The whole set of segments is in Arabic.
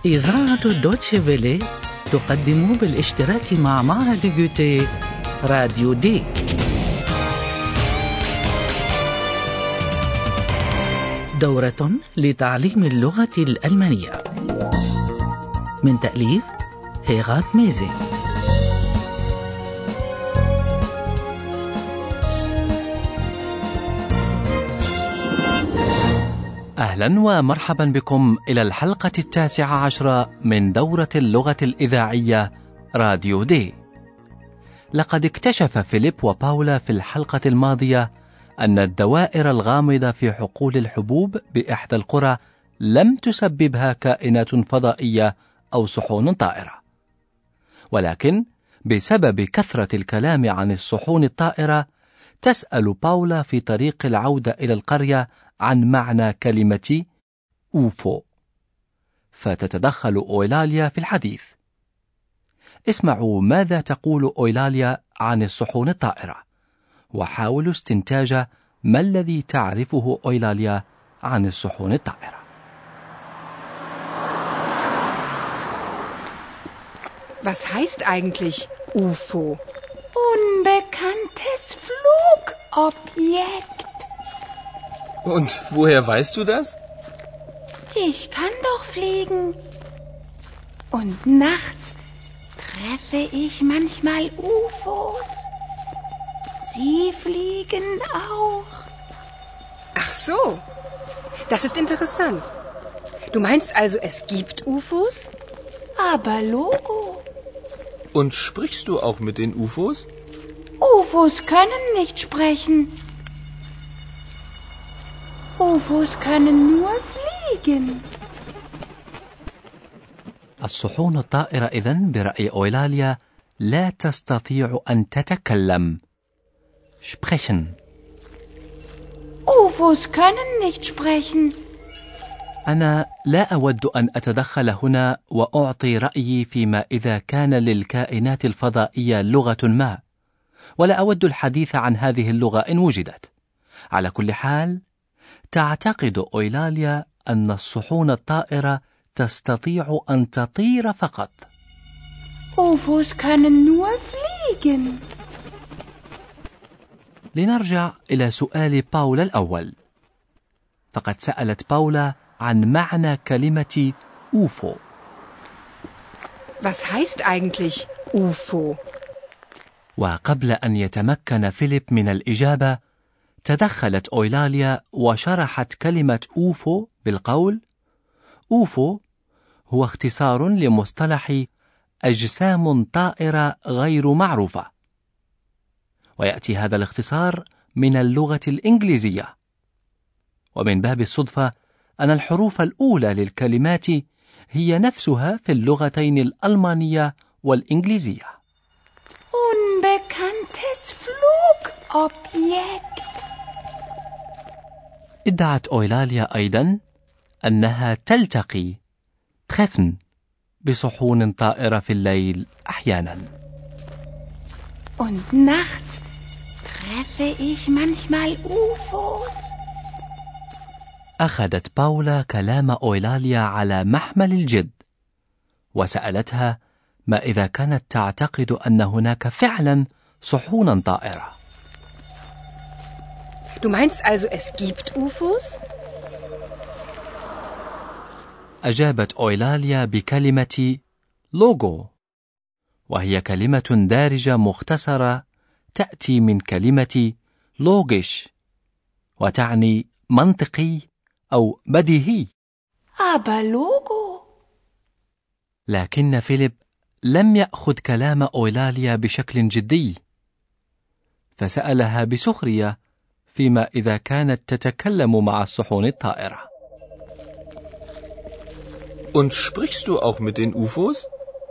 إذاعة دوتشي فيلي تقدم بالاشتراك مع معهد جوتيه راديو دي. دورة لتعليم اللغة الألمانية من تأليف هيغات ميزي. أهلا ومرحبا بكم إلى الحلقة 19 من دورة اللغة الإذاعية راديو دي. لقد اكتشف فيليب وباولا في الحلقة الماضية أن الدوائر الغامضة في حقول الحبوب بإحدى القرى لم تسببها كائنات فضائية أو صحون طائرة، ولكن بسبب كثرة الكلام عن الصحون الطائرة تسأل باولا في طريق العودة إلى القرية عن معنى كلمة أوفو، فتتدخل أويلاليا في الحديث. اسمعوا ماذا تقول أويلاليا عن الصحون الطائرة، وحاولوا استنتاج ما الذي تعرفه أويلاليا عن الصحون الطائرة. Was heißt eigentlich UFO? Unbekanntes Flugobjekt. Und woher weißt du das? Ich kann doch fliegen. Und nachts treffe ich manchmal UFOs. Sie fliegen auch. Ach so, das ist interessant. Du meinst also, es gibt UFOs? Aber Logo. Und sprichst du auch mit den UFOs? UFOs können nicht sprechen. UFOs können nur fliegen. الصحون الطائرة إذن برأي أويلاليا لا تستطيع أن تتكلم. sprechen. UFOs können nicht sprechen. أنا لا أود أن أتدخل هنا وأعطي رأيي فيما إذا كان للكائنات الفضائية لغة ما، ولا أود الحديث عن هذه اللغة إن وجدت. على كل حال، تعتقد أويلاليا أن الصحون الطائرة تستطيع أن تطير فقط. UFOs können nur fliegen. لنرجع إلى سؤال باولا الأول، فقد سألت باولا عن معنى كلمة أوفو. Was heißt eigentlich UFO? وقبل أن يتمكن فيليب من الإجابة تدخلت أويلاليا وشرحت كلمة أوفو بالقول: أوفو هو اختصار لمصطلح أجسام طائرة غير معروفة، ويأتي هذا الاختصار من اللغة الإنجليزية، ومن باب الصدفة أن الحروف الأولى للكلمات هي نفسها في اللغتين الألمانية والإنجليزية. Unbekanntes Flugobjekt. ادعت أويلاليا أيضا أنها تلتقي treffen بصحون طائرة في الليل أحيانا. Und nachts treffe ich manchmal UFOs. أخذت باولا كلام أويلاليا على محمل الجد، وسألتها ما إذا كانت تعتقد أن هناك فعلا صحونا طائرة. Du meinst also, es gibt UFOs? أجابت أويلاليا بكلمة لوغو، وهي كلمة دارجة مختصرة تأتي من كلمة لوغيش، وتعني منطقي أو بديهي. Aber Logo. لكن فيليب لم يأخذ كلام أويلاليا بشكل جدي، فسألها بسخرية فيما إذا كانت تتكلم مع الصحون الطائرة. Und sprichst du auch mit den UFOs?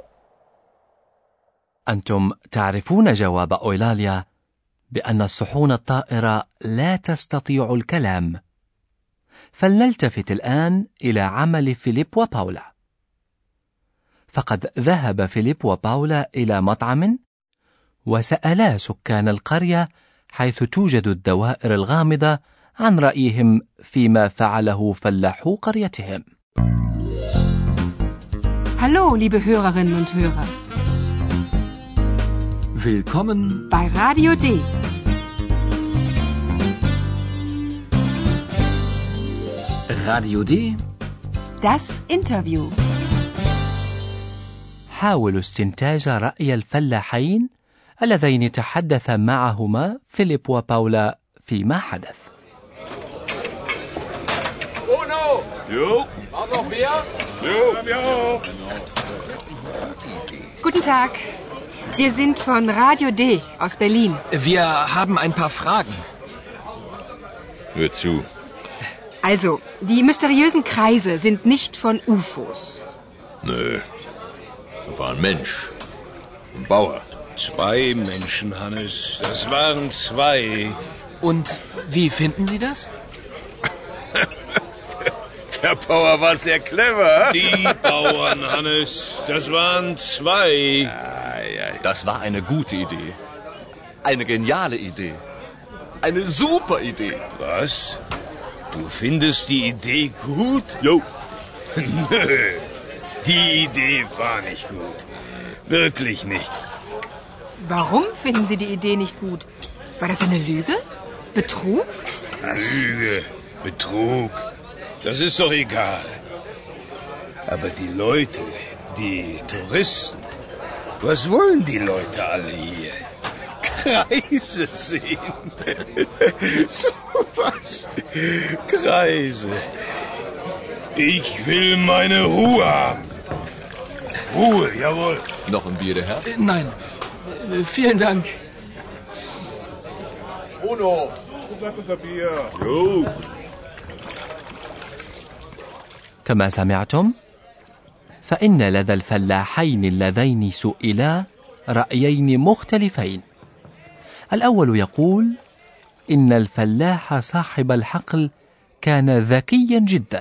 أنتم تعرفون جواب أويلاليا بأن الصحون الطائرة لا تستطيع الكلام، فلنلتفت الآن إلى عمل فيليب وباولا. فقد ذهب فيليب وباولا إلى مطعم وسألا سكان القرية حيث توجد الدوائر الغامضة عن رأيهم فيما فعله فلاحو قريتهم. Hallo, liebe Hörerinnen und Hörer. Willkommen bei Radio D. Radio D. Das Interview. حاولوا استنتاج رأي الفلاحين اللذين تحدث معهما فيليب وباولا فيما حدث. Guten Tag. Wir sind von Radio D aus Berlin. Wir haben ein paar Fragen. Hör zu. Also, die mysteriösen Kreise sind nicht von UFOs. Nö. Das war ein Mensch. Ein Bauer. 2 Menschen, Hannes. Das waren 2. Und wie finden Sie das? Der Bauer war sehr clever. Die Bauern, Hannes. Das waren 2. Das war eine gute Idee. Eine geniale Idee. Eine super Idee. Was? Du findest die Idee gut? Jo. Nö. Die Idee war nicht gut. Wirklich nicht. Warum finden Sie die Idee nicht gut? War das eine Lüge? Betrug? Lüge, Betrug. Das ist doch egal. Aber die Leute, die Touristen, was wollen die Leute alle hier? Kreise sehen. So was. Kreise. Ich will meine Ruhe haben. Ruhe, jawohl. Noch ein Bier, der Herr? Nein. Vielen Dank. Uno. Sag unser Bier. Jo. كما سمعتم فإن لدى الفلاحين اللذين سئلا رأيين مختلفين. الأول يقول إن الفلاح صاحب الحقل كان ذكيا جدا.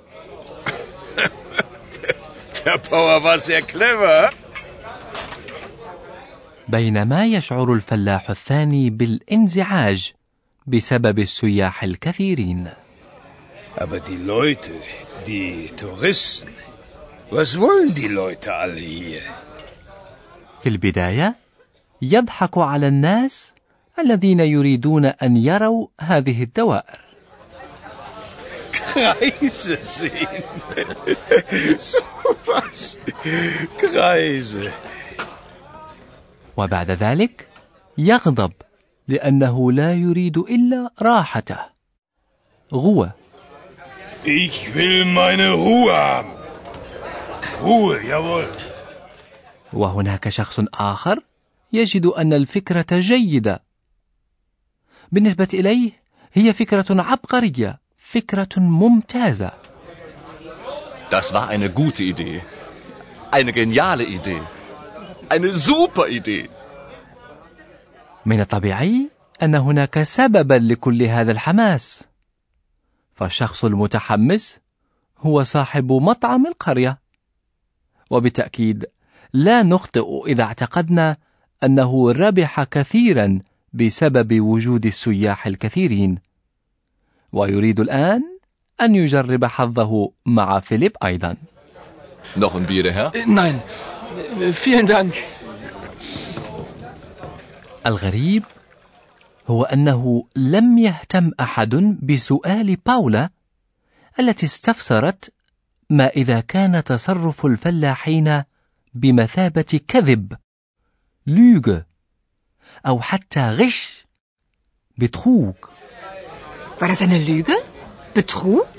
Der Bauer war sehr clever. بينما يشعر الفلاح الثاني بالانزعاج بسبب السياح الكثيرين. Aber die Leute, die Touristen, was wollen die Leute alle hier? في البداية يضحك على الناس الذين يريدون أن يروا هذه الدوائر. Kreise sehen. So was. Kreise. وبعد ذلك يغضب لأنه لا يريد إلا راحته. Ruhe. Ich will meine Ruhe haben. Ruhe, jawohl. وهناك شخص آخر يجد أن الفكرة جيدة. بالنسبة إليه هي فكرة عبقرية، فكرة ممتازة. Das war eine gute Idee. Eine geniale Idee. Eine super Idee. من الطبيعي أن هناك سببا لكل هذا الحماس. فالشخص المتحمس هو صاحب مطعم القرية. وبالتأكيد لا نخطئ إذا اعتقدنا أنه ربح كثيرا بسبب وجود السياح الكثيرين، ويريد الآن أن يجرب حظه مع فيليب أيضا. Noch ein Bier, der Herr? Nein. Vielen Dank. الغريب هو أنه لم يهتم أحد بسؤال باولا التي استفسرت ما إذا كان تصرف الفلاحين بمثابة كذب، لوغ، أو حتى غش، بتخوك. War das eine Lüge? Betrug?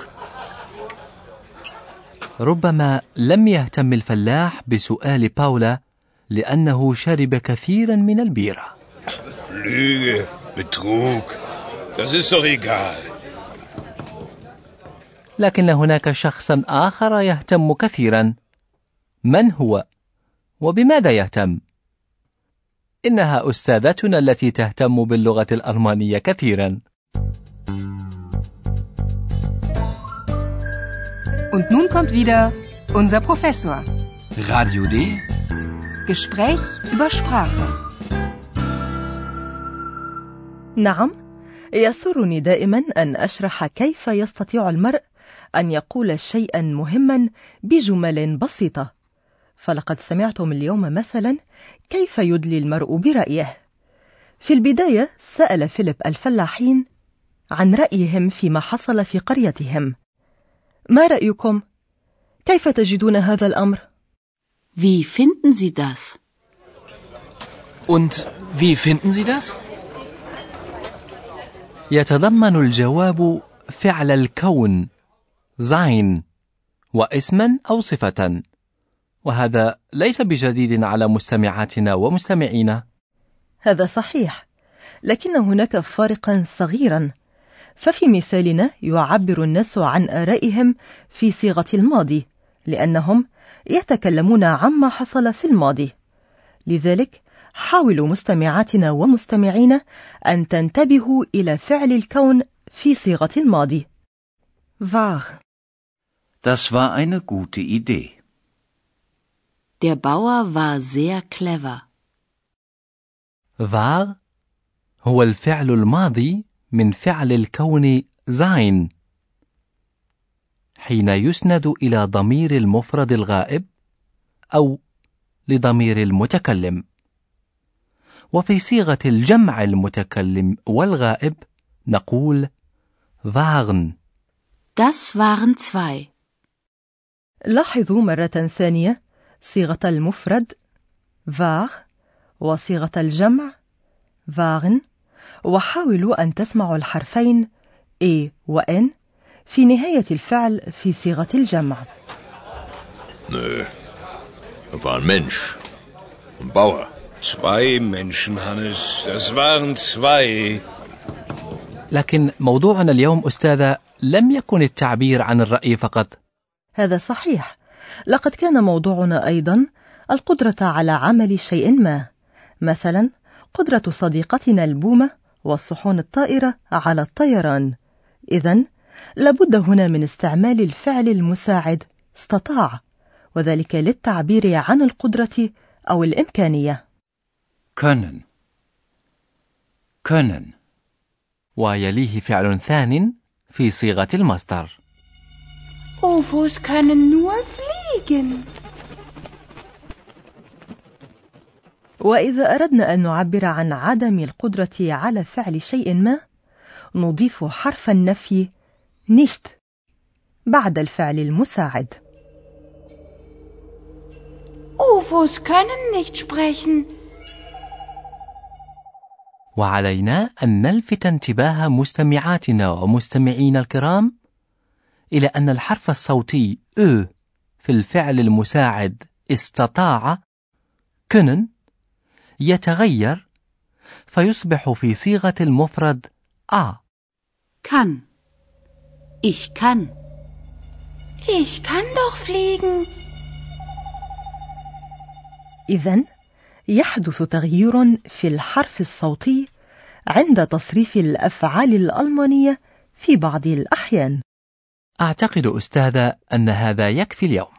ربما لم يهتم الفلاح بسؤال باولا لأنه شرب كثيرا من البيرة. Lüge, Betrug. Das ist doch egal. لكن هناك شخصا آخر يهتم كثيرا. من هو؟ وبماذا يهتم؟ إنها أستاذتنا التي تهتم باللغة الألمانية كثيرا. Und nun kommt wieder unser Professor. Radio D. Gespräch über Sprache. نعم، يسرني دائما أن أشرح كيف يستطيع المرء أن يقول شيئا مهما بجمل بسيطة، فلقد سمعتم اليوم مثلا كيف يدلي المرء برأيه. في البداية سأل فيليب الفلاحين عن رأيهم فيما حصل في قريتهم. ما رأيكم؟ كيف تجدون هذا الأمر؟ Wie finden Sie das? Und wie finden Sie das? يتضمن الجواب فعل الكون sein واسما أو صفة، وهذا ليس بجديد على مستمعاتنا ومستمعينا. هذا صحيح، لكن هناك فرقا صغيرا. ففي مثالنا يعبر الناس عن آرائهم في صيغة الماضي، لأنهم يتكلمون عما حصل في الماضي. لذلك حاولوا مستمعاتنا ومستمعينا أن تنتبهوا إلى فعل الكون في صيغة الماضي. war. Das war eine gute Idee. Der Bauer war sehr clever. war هو الفعل الماضي من فعل الكون sein، حين يسند إلى ضمير المفرد الغائب أو لضمير المتكلم. وفي صيغة الجمع المتكلم والغائب نقول waren. Das waren zwei. لاحظوا مرة ثانية صيغة المفرد war وصيغة الجمع waren، وحاولوا أن تسمعوا الحرفين e و n في نهاية الفعل في صيغة الجمع. Nö, war ein Mensch, ein Bauer. 2 Menschen, Hannes, das waren 2. لكن موضوعنا اليوم أستاذة لم يكن التعبير عن الرأي فقط. هذا صحيح، لقد كان موضوعنا أيضا القدرة على عمل شيء ما، مثلا قدرة صديقتنا البومة والصحون الطائرة على الطيران. إذن لابد هنا من استعمال الفعل المساعد استطاع، وذلك للتعبير عن القدرة أو الإمكانية. Können. Können. ويليه فعل ثان في صيغة المصدر. UFOs können nur fliegen. وإذا أردنا أن نعبر عن عدم القدرة على فعل شيء ما، نضيف حرف النفي nicht بعد الفعل المساعد. UFOs können nicht sprechen. وعلينا أن نلفت انتباه مستمعاتنا ومستمعينا الكرام إلى أن الحرف الصوتي أ في الفعل المساعد استطاع können يتغير فيصبح في صيغة المفرد a. Kann. Ich kann. Ich kann doch fliegen. إذن يحدث تغيير في الحرف الصوتي عند تصريف الأفعال الألمانية في بعض الأحيان. أعتقد أستاذة أن هذا يكفي اليوم.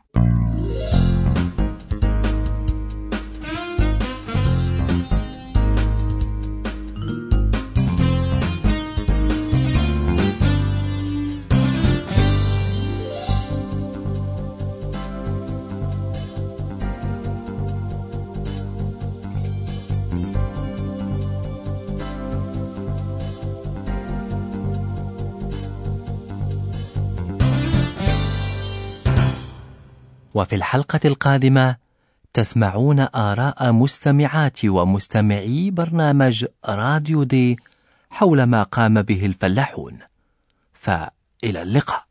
وفي الحلقة القادمة تسمعون آراء مستمعات ومستمعي برنامج راديو دي حول ما قام به الفلاحون. فإلى اللقاء.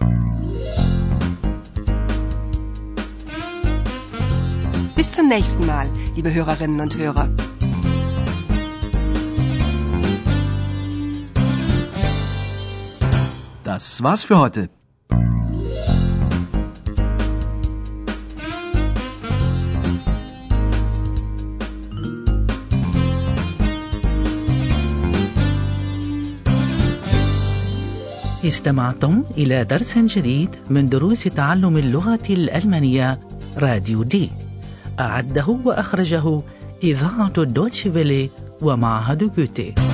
Bis zum nächsten Mal, liebe Hörerinnen und Hörer. Das war's für heute. استمعتم إلى درس جديد من دروس تعلم اللغة الألمانية راديو دي. أعده وأخرجه إذاعة دوتشي فيلي ومعهد جوتي.